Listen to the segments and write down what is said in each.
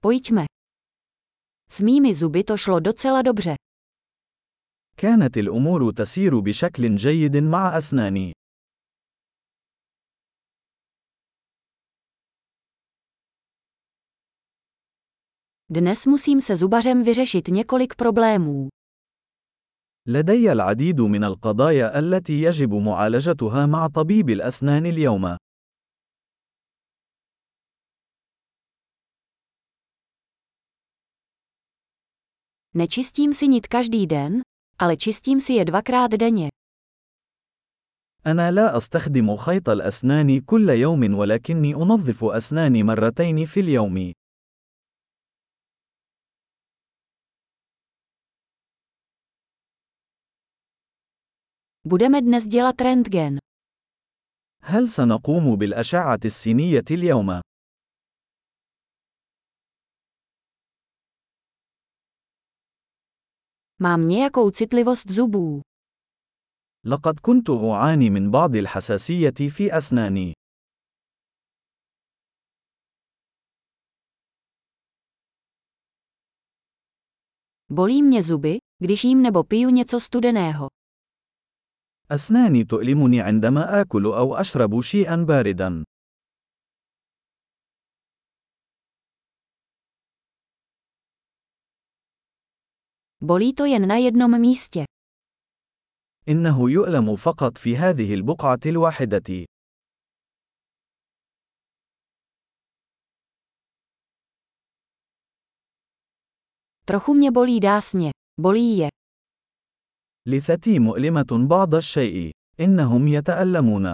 Pojďme. S mými zuby to šlo docela dobře. كانت الأمور تسير بشكل جيد مع أسناني. Dnes musím se zubařem vyřešit několik problémů. لدي العديد من القضايا التي يجب معالجتها مع طبيب الأسنان اليوم. Nečistím si nit každý den, ale čistím si je 2krát denně. أنا لا أستخدم خيط الأسنان كل يوم ولكني أنظف أسناني مرتين في اليوم. Budeme dnes dělat rentgen. هل سنقوم بالأشعة السينية اليوم؟ Mám nějakou citlivost zubů. لقد كنت أعاني من بعض الحساسية في أسناني. Bolí mě zuby, když jím nebo piju něco studeného. أسناني تؤلمني عندما آكل أو أشرب شيئا باردا. Bolí to jen na jednom místě. إنه يؤلم فقط في هذه البقعة الواحدة. Trochu mě bolí dásně. Bolí je. لثتي مؤلمة بعض الشيء. إنهم يتألمون.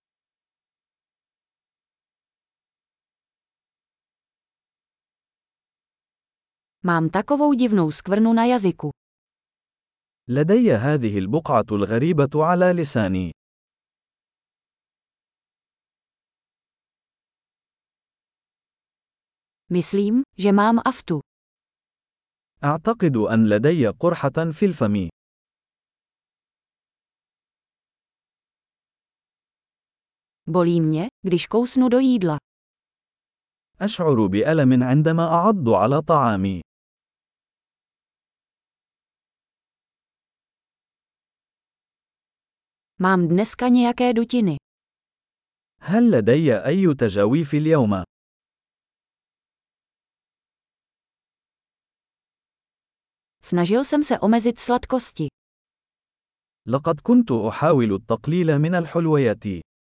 Mám takovou divnou skvrnu na jazyku. لدي هذه البقعة الغريبة على لساني. Myslím, že mám aftu. أعتقد أن لدي قرحة في الفم. Bolí mě, když kousnu do jídla. أشعر بألم عندما أعض على طعامي. Mám dneska nějaké dutiny. هل لدي أي تجاويف اليوم؟ Snažil jsem se omezit sladkosti. لقد كنت أحاول التقليل من الحلويات.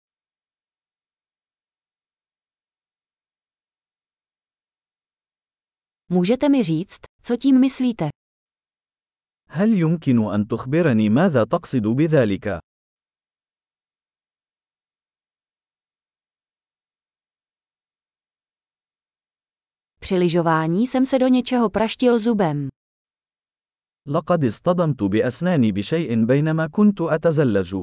Můžete mi říct, co tím myslíte? هل يمكن أن تخبرني ماذا تقصد بذلك؟ Při lyžování jsem se do něčeho praštil zubem. لقد اصطدمت بأسناني بشيء بينما كنت أتزلج.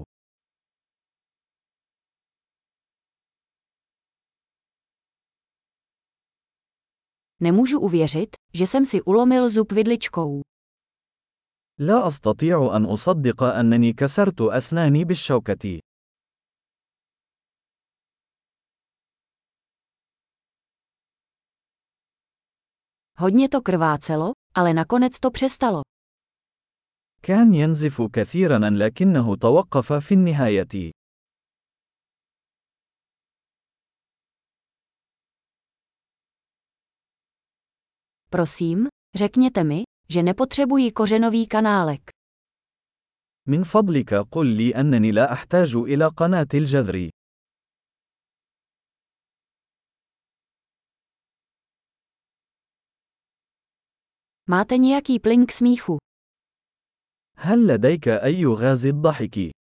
Nemůžu uvěřit, že jsem si ulomil zub vidličkou. لا أستطيع أن أصدق أنني كسرت أسناني بالشوكة. Hodně to krvácelo, ale nakonec to přestalo. كان ينزف كثيرا لكنه توقف في النهاية. Prosím, řekněte mi, že nepotřebuji kořenový kanálek. من فضلك قل لي أنني لا أحتاج إلى قناة الجذر. Máte nějaký plyn k smíchu? هل لديك أي غاز الضحك؟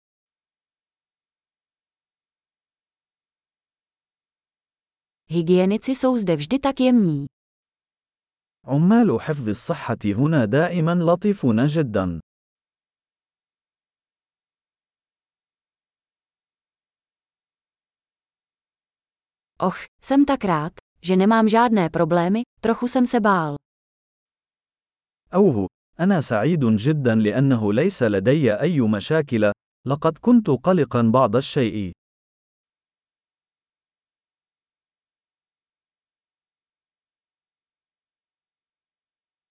Hygienici jsou zde vždy tak jemní. عمال حفظ الصحة هنا دائما لطيفون جدا. Och, jsem tak rád, že nemám žádné problémy, trochu jsem se bál. أوه، أنا سعيد جدا لأنه ليس لدي أي مشاكل، لقد كنت قلقا بعض الشيء.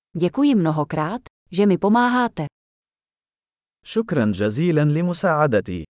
Děkuji mnohokrát, že mi pomáháte. شكرا جزيلا لمساعدتي.